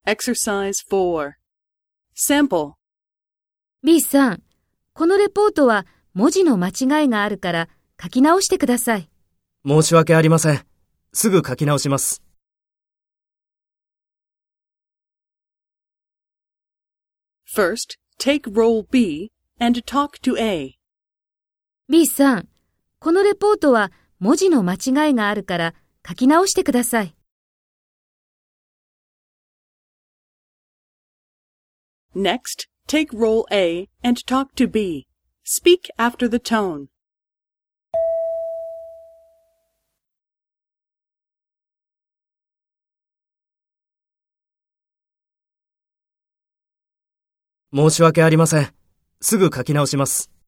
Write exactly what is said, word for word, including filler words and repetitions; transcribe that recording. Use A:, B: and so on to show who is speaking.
A: Exercise four. Sample.
B: B さん、このレポートは文字の間違いがあるから書き直してください。
C: 申し訳ありません。すぐ書き直します。
A: First, take role B and talk to A.
B: B さん、このレポートは文字の間違いがあるから書き直してください。
A: Next, take role A and talk to B. Speak after the tone.
C: 申し訳ありません。すぐ書き直します。